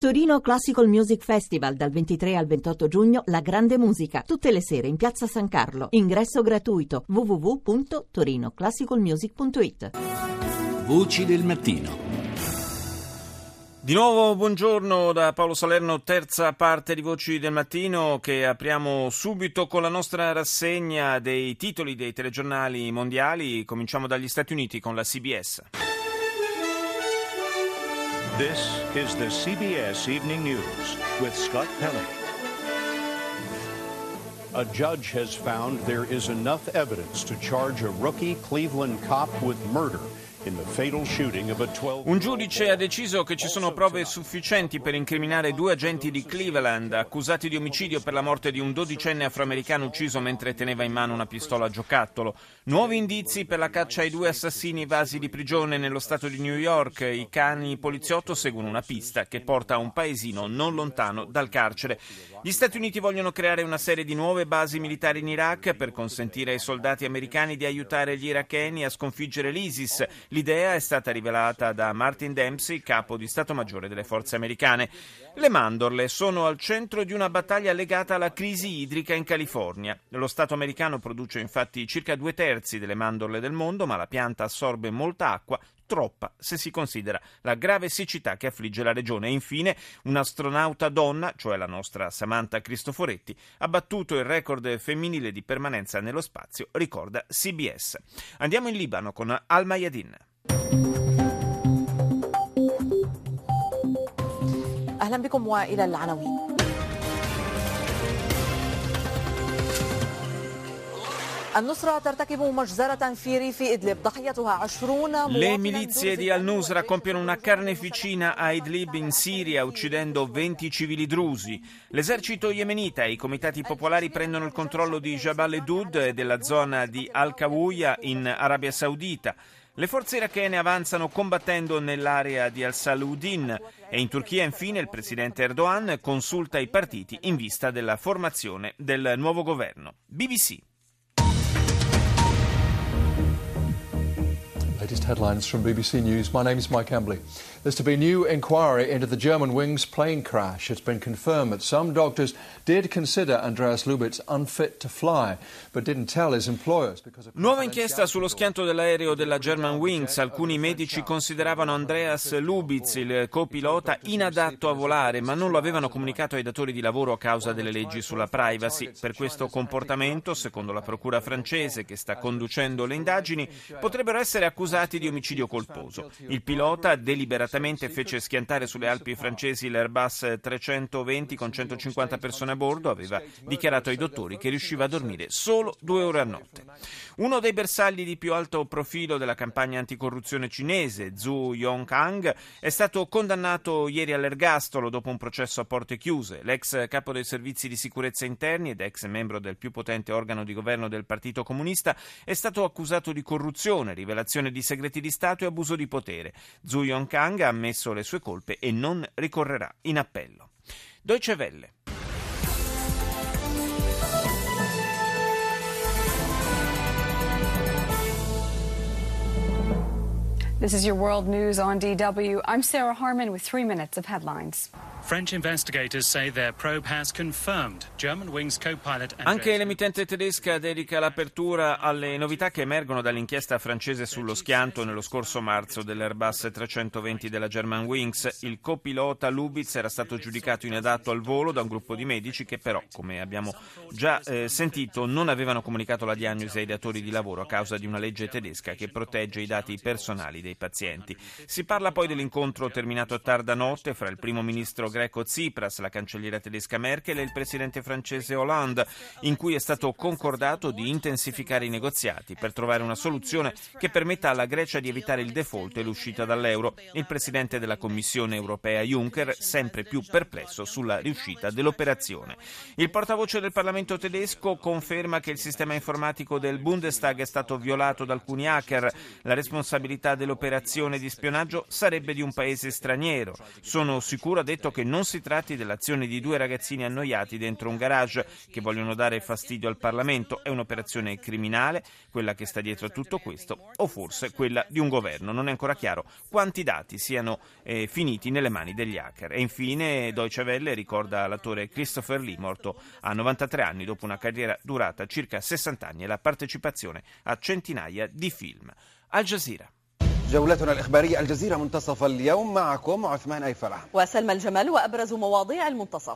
Torino Classical Music Festival dal 23 al 28 giugno, la grande musica, tutte le sere in Piazza San Carlo. Ingresso gratuito. www.torinoclassicalmusic.it. Voci del mattino. Di nuovo buongiorno da Paolo Salerno, terza parte di Voci del Mattino, che apriamo subito con la nostra rassegna dei titoli dei telegiornali mondiali. Cominciamo dagli Stati Uniti con la CBS. This is the CBS Evening News with Scott Pelley. A judge has found there is enough evidence to charge a rookie Cleveland cop with murder. Un giudice ha deciso che ci sono prove sufficienti per incriminare due agenti di Cleveland accusati di omicidio per la morte di un 12enne afroamericano ucciso mentre teneva in mano una pistola a giocattolo. Nuovi indizi per la caccia ai due assassini evasi di prigione nello stato di New York. I cani poliziotto seguono una pista che porta a un paesino non lontano dal carcere. Gli Stati Uniti vogliono creare una serie di nuove basi militari in Iraq per consentire ai soldati americani di aiutare gli iracheni a sconfiggere l'ISIS. L'idea è stata rivelata da Martin Dempsey, capo di Stato Maggiore delle forze americane. Le mandorle sono al centro di una battaglia legata alla crisi idrica in California. Lo Stato americano produce infatti circa 2/3 delle mandorle del mondo, ma la pianta assorbe molta acqua, troppa se si considera la grave siccità che affligge la regione. E infine un'astronauta donna, cioè la nostra Samantha Cristoforetti, ha battuto il record femminile di permanenza nello spazio, ricorda CBS. Andiamo in Libano con Al Mayadin. أهلا بكم وإلى العناوين. Le milizie di al-Nusra compiono una carneficina a Idlib in Siria, uccidendo 20 civili drusi. L'esercito yemenita e i comitati popolari prendono il controllo di Jabal Edud e della zona di Al-Kawuya in Arabia Saudita. Le forze irachene avanzano combattendo nell'area di Al-Salaudin e in Turchia infine il presidente Erdogan consulta i partiti in vista della formazione del nuovo governo. BBC. Latest headlines from BBC News. My name is Mike Embley. There's to be a new inquiry into the Germanwings plane crash. It's been confirmed that some doctors did consider Andreas Lubitz unfit to fly, but didn't tell his employers because of... Nuova inchiesta sullo schianto dell'aereo della Germanwings. Alcuni medici consideravano Andreas Lubitz, il copilota, inadatto a volare, ma non lo avevano comunicato ai datori di lavoro a causa delle leggi sulla privacy. Per questo comportamento, secondo la procura francese che sta conducendo le indagini, potrebbero essere accusati di omicidio colposo. Il pilota deliberatamente fece schiantare sulle Alpi francesi l'Airbus 320 con 150 persone a bordo. Aveva dichiarato ai dottori che riusciva a dormire solo 2 ore a notte. Uno dei bersagli di più alto profilo della campagna anticorruzione cinese, Zhu Yongkang, è stato condannato ieri all'ergastolo dopo un processo a porte chiuse. L'ex capo dei servizi di sicurezza interni ed ex membro del più potente organo di governo del Partito Comunista è stato accusato di corruzione, rivelazione di segreti di Stato e abuso di potere. Zhu Yongkang ha ammesso le sue colpe e non ricorrerà in appello. Deutsche Welle. This is your World News on DW. I'm Sarah Harman with 3 minutes of headlines. French investigators say their probe has confirmed Germanwings co-pilot Andreas... Anche l'emittente tedesca dedica l'apertura alle novità che emergono dall'inchiesta francese sullo schianto nello scorso marzo dell'Airbus 320 della Germanwings. Il copilota Lubitz era stato giudicato inadatto al volo da un gruppo di medici che però, come abbiamo già sentito, non avevano comunicato la diagnosi ai datori di lavoro a causa di una legge tedesca che protegge i dati personali dei pazienti. Si parla poi dell'incontro terminato a tarda notte fra il primo ministro greco Tsipras, la cancelliera tedesca Merkel e il presidente francese Hollande, in cui è stato concordato di intensificare i negoziati per trovare una soluzione che permetta alla Grecia di evitare il default e l'uscita dall'euro. Il presidente della Commissione europea Juncker sempre più perplesso sulla riuscita dell'operazione. Il portavoce del Parlamento tedesco conferma che il sistema informatico del Bundestag è stato violato da alcuni hacker. La responsabilità dell'operazione di spionaggio sarebbe di un paese straniero. Sono sicuro, ha detto, che che non si tratti dell'azione di due ragazzini annoiati dentro un garage che vogliono dare fastidio al Parlamento. È un'operazione criminale, quella che sta dietro a tutto questo, o forse quella di un governo. Non è ancora chiaro quanti dati siano finiti nelle mani degli hacker. E infine Deutsche Welle ricorda l'attore Christopher Lee, morto a 93 anni dopo una carriera durata circa 60 anni e la partecipazione a centinaia di film. Al Jazeera. جولتنا الإخبارية الجزيرة منتصف اليوم معكم عثمان أيفرح وسلمى الجمال وأبرز مواضيع المنتصف.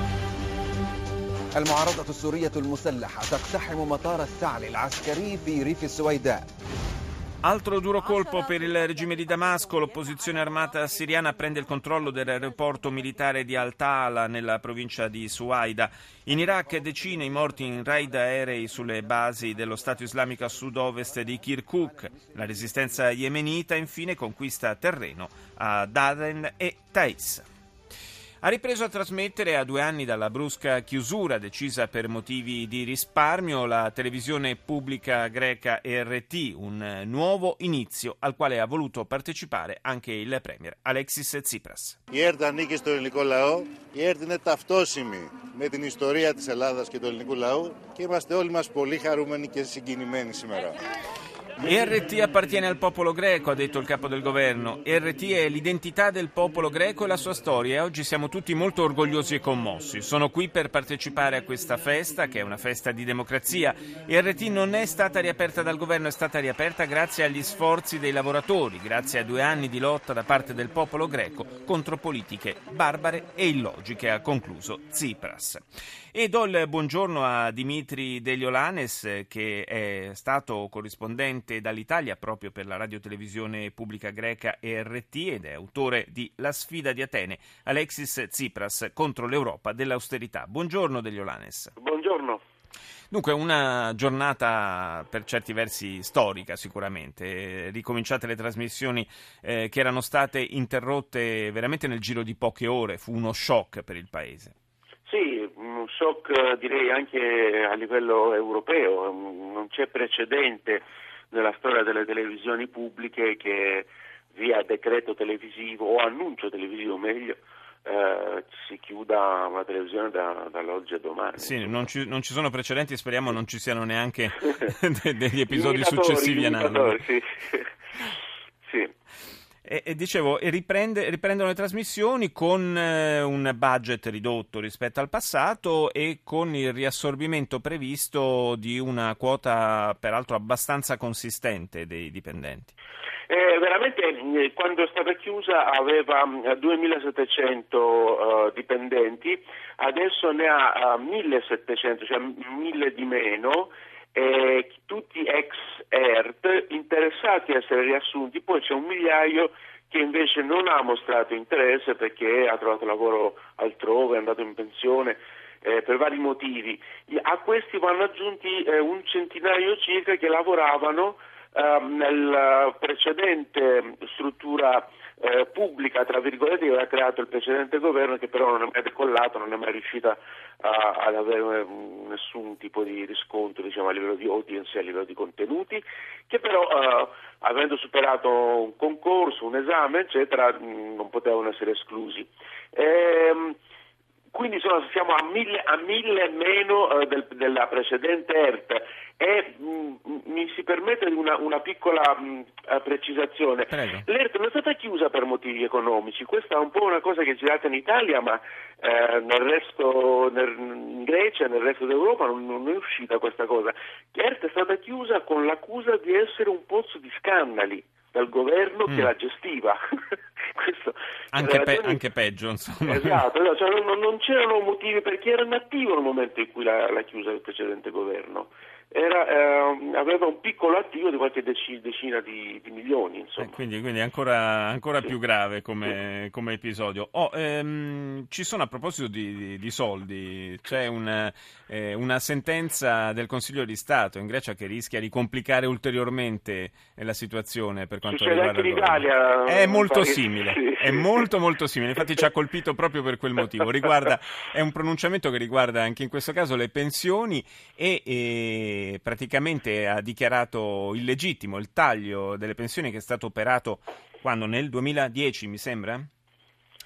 المعارضة السورية المسلحة تقتحم مطار الثعلب العسكري في ريف السويداء. Altro duro colpo per il regime di Damasco. L'opposizione armata siriana prende il controllo dell'aeroporto militare di Al-Tala nella provincia di Suaida. In Iraq decine i morti in raid aerei sulle basi dello Stato islamico a sud-ovest di Kirkuk. La resistenza yemenita infine conquista terreno a Aden e Taiz. Ha ripreso a trasmettere a 2 anni dalla brusca chiusura decisa per motivi di risparmio la televisione pubblica greca RT, un nuovo inizio al quale ha voluto partecipare anche il premier Alexis Tsipras. Η ΕΡΤ ανήκει στο ελληνικό λαό. Η ΕΡΤ είναι ταυτόσιμη με την ιστορία της Ελλάδας και του ελληνικού λαού και είμαστε όλοι μας πολύ χαρούμενοι και συγκινημένοι σήμερα. RT appartiene al popolo greco, ha detto il capo del governo. RT è l'identità del popolo greco e la sua storia e oggi siamo tutti molto orgogliosi e commossi. Sono qui per partecipare a questa festa, che è una festa di democrazia. RT non è stata riaperta dal governo, è stata riaperta grazie agli sforzi dei lavoratori, grazie a 2 anni di lotta da parte del popolo greco contro politiche barbare e illogiche, ha concluso Tsipras. E do il buongiorno a Dimitri Deliolannis, che è stato corrispondente dall'Italia proprio per la radiotelevisione pubblica greca RT ed è autore di La sfida di Atene, Alexis Tsipras contro l'Europa dell'austerità. Buongiorno Deliolannis. Buongiorno. Dunque una giornata per certi versi storica sicuramente, ricominciate le trasmissioni che erano state interrotte veramente nel giro di poche ore, fu uno shock per il Paese. Sì, un shock direi anche a livello europeo, non c'è precedente nella storia delle televisioni pubbliche che via decreto televisivo o annuncio televisivo meglio si chiuda una televisione dall'oggi a domani. Sì, non ci sono precedenti, speriamo non ci siano neanche degli episodi successivi a Nano. Sì. Sì. E dicevo, riprendono le trasmissioni con un budget ridotto rispetto al passato e con il riassorbimento previsto di una quota peraltro abbastanza consistente dei dipendenti. Veramente quando è stata chiusa aveva 2.700 dipendenti, adesso ne ha 1.700, cioè 1.000 di meno. Tutti ex ERT interessati a essere riassunti, poi c'è 1 migliaio che invece non ha mostrato interesse perché ha trovato lavoro altrove, è andato in pensione per vari motivi. A questi vanno aggiunti un centinaio circa che lavoravano nella precedente struttura pubblica, tra virgolette, che aveva creato il precedente governo, che però non è mai decollato, non è mai riuscita ad avere nessun tipo di riscontro, diciamo, a livello di audience e a livello di contenuti, che però avendo superato un concorso, un esame, eccetera, non potevano essere esclusi. Quindi siamo a 1.000 meno della precedente ERT e mi si permette una piccola precisazione. Prego. L'ERT non è stata chiusa per motivi economici, questa è un po' una cosa che è girata in Italia, ma in Grecia e nel resto d'Europa non è uscita questa cosa. L'ERT è stata chiusa con l'accusa di essere un pozzo di scandali dal governo che la gestiva. Questo, anche peggio, insomma. Esatto, cioè non c'erano motivi perché era inattivo nel momento in cui l'ha chiusa il precedente governo. Aveva un piccolo attivo di qualche decina di milioni, insomma. Quindi ancora sì. Più grave come episodio. Ci sono, a proposito di soldi, c'è una sentenza del Consiglio di Stato in Grecia che rischia di complicare ulteriormente la situazione per quanto riguarda anche l'Italia. È molto simile, sì. È molto simile, infatti ci ha colpito proprio per quel motivo. È un pronunciamento che riguarda anche in questo caso le pensioni e praticamente ha dichiarato illegittimo il taglio delle pensioni che è stato operato quando nel 2010, mi sembra?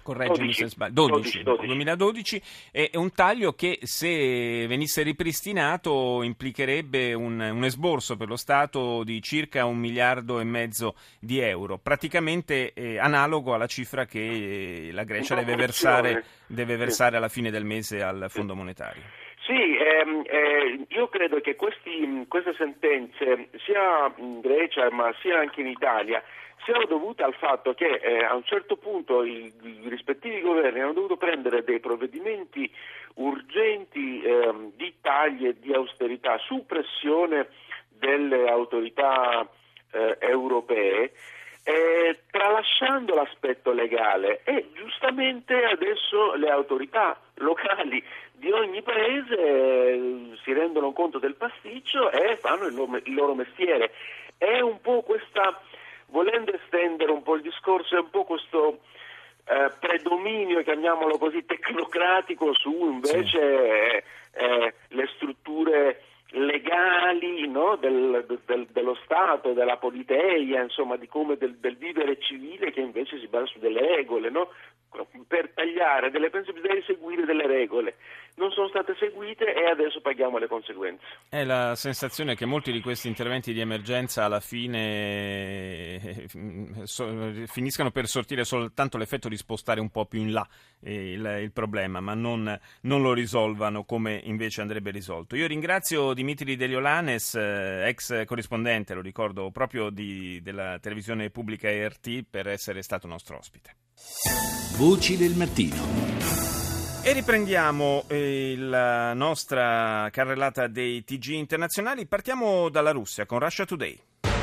correggimi se sbaglio, 2012, è un taglio che se venisse ripristinato implicherebbe un esborso per lo Stato di circa 1,5 miliardi di euro, praticamente analogo alla cifra che la Grecia deve versare alla fine del mese al Fondo Monetario. Sì, io credo che queste sentenze, sia in Grecia ma sia anche in Italia, siano dovute al fatto che a un certo punto i rispettivi governi hanno dovuto prendere dei provvedimenti urgenti di tagli e di austerità su pressione delle autorità europee, tralasciando l'aspetto legale, e giustamente adesso le autorità locali di ogni paese si rendono conto del pasticcio e fanno il loro mestiere. È un po' questa, volendo estendere un po' il discorso, è un po' questo predominio, chiamiamolo così, tecnocratico su invece le strutture legali, no? dello Stato, della politeia, insomma, di come del vivere civile, che invece si basa su delle regole, no? Per tagliare delle pensioni bisogna seguire delle regole, non sono state seguite e adesso paghiamo le conseguenze. È la sensazione che molti di questi interventi di emergenza alla fine finiscano per sortire soltanto l'effetto di spostare un po' più in là il problema, ma non lo risolvano come invece andrebbe risolto. Io ringrazio Dimitri Deliolannis, ex corrispondente, lo ricordo, proprio della televisione pubblica ERT, per essere stato nostro ospite. Voci del mattino. E riprendiamo la nostra carrellata dei TG internazionali. Partiamo dalla Russia con Russia Today.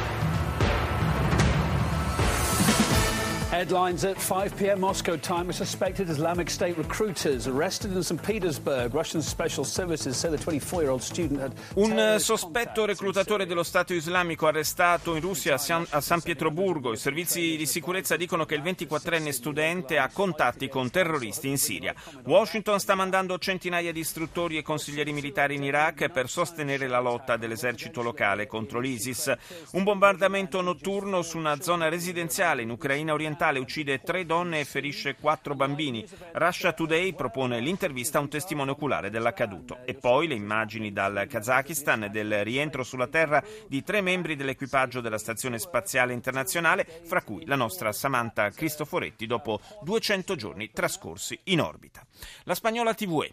Headlines at 5 p.m. Moscow time. Suspected Islamic State recruiters arrested in St. Petersburg. Russian special services say the 24-year-old student had... Un sospetto reclutatore dello Stato islamico arrestato in Russia a San Pietroburgo. I servizi di sicurezza dicono che il 24enne studente ha contatti con terroristi in Siria. Washington sta mandando centinaia di istruttori e consiglieri militari in Iraq per sostenere la lotta dell'esercito locale contro l'ISIS. Un bombardamento notturno su una zona residenziale in Ucraina orientale uccide 3 donne e ferisce 4 bambini. Russia Today propone l'intervista a un testimone oculare dell'accaduto. E poi le immagini dal Kazakistan del rientro sulla Terra di 3 membri dell'equipaggio della Stazione Spaziale Internazionale, fra cui la nostra Samantha Cristoforetti, dopo 200 giorni trascorsi in orbita. La Spagnola TVE.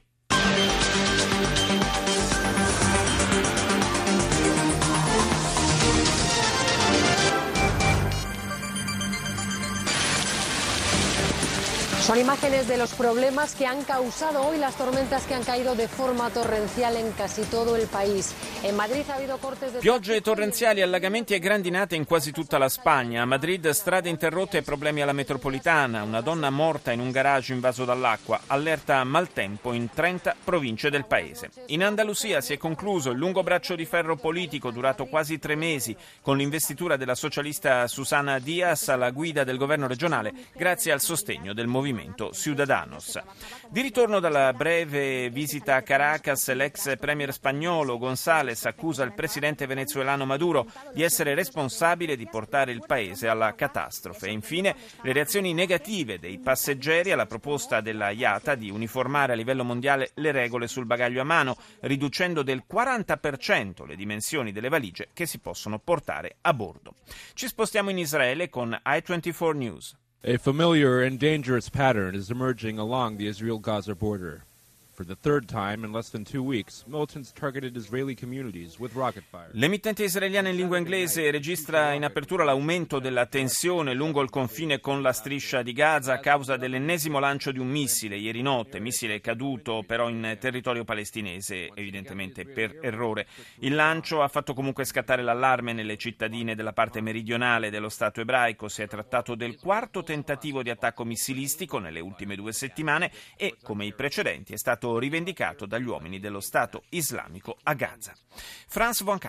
Son imágenes de los problemas que han causado hoy las tormentas que han caído de forma torrencial en casi todo el país. En Madrid ha habido cortes de... Piogge torrenziali, allagamenti e grandinate in quasi tutta la Spagna. A Madrid strade interrotte e problemi alla metropolitana. Una donna morta in un garage invaso dall'acqua. Allerta maltempo in 30 province del paese. In Andalusia si è concluso il lungo braccio di ferro politico durato quasi 3 mesi con l'investitura della socialista Susana Díaz alla guida del governo regionale grazie al sostegno del movimento Ciudadanos. Di ritorno dalla breve visita a Caracas, l'ex premier spagnolo González accusa il presidente venezuelano Maduro di essere responsabile di portare il paese alla catastrofe. E infine le reazioni negative dei passeggeri alla proposta della IATA di uniformare a livello mondiale le regole sul bagaglio a mano, riducendo del 40% le dimensioni delle valigie che si possono portare a bordo. Ci spostiamo in Israele con i24 News. A familiar and dangerous pattern is emerging along the Israel-Gaza border. For the third time in less than 2 weeks, militants targeted Israeli communities with rocket fire. L'emittente israeliana in lingua inglese registra in apertura l'aumento della tensione lungo il confine con la striscia di Gaza a causa dell'ennesimo lancio di un missile ieri notte, missile caduto però in territorio palestinese, evidentemente per errore. Il lancio ha fatto comunque scattare l'allarme nelle cittadine della parte meridionale dello Stato ebraico. Si è trattato del 4º tentativo di attacco missilistico nelle ultime 2 settimane e, come i precedenti, è stato rivendicato dagli uomini dello Stato islamico a Gaza. France 24.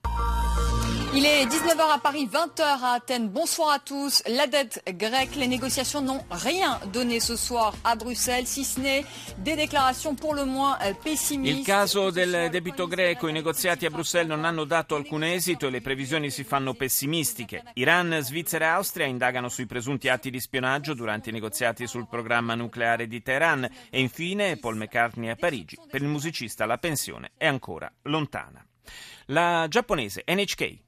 Il est 19h à Paris, 20h à Athènes. Bonsoir à tous. La dette grecque, les négociations n'ont rien donné ce soir à Bruxelles, si ce n'est des déclarations pour le moins pessimistes. Il caso del debito greco, i negoziati a Bruxelles non hanno dato alcun esito e le previsioni si fanno pessimistiche. Iran, Svizzera e Austria indagano sui presunti atti di spionaggio durante i negoziati sul programma nucleare di Teheran. E infine Paul McCartney a Parigi. Per il musicista la pensione è ancora lontana. La giapponese NHK.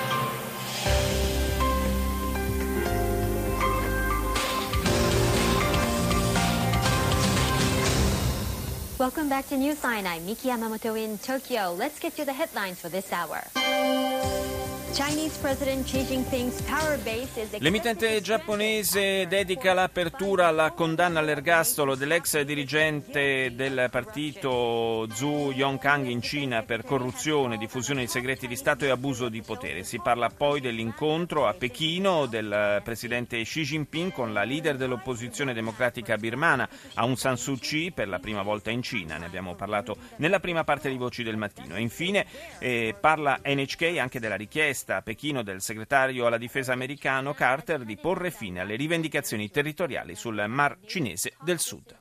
Welcome back to Newsline. I'm Miki Yamamoto in Tokyo. Let's get to the headlines for this hour. Chinese President Xi Jinping's power base is... L'emittente giapponese dedica l'apertura alla condanna all'ergastolo dell'ex dirigente del partito Zhu Yongkang in Cina per corruzione, diffusione di segreti di Stato e abuso di potere. Si parla poi dell'incontro a Pechino del presidente Xi Jinping con la leader dell'opposizione democratica birmana, Aung San Suu Kyi, per la prima volta in Cina. Ne abbiamo parlato nella prima parte di Voci del Mattino. E infine parla NHK anche della richiesta a Pechino del segretario alla difesa americano Carter di porre fine alle rivendicazioni territoriali sul Mar Cinese del Sud.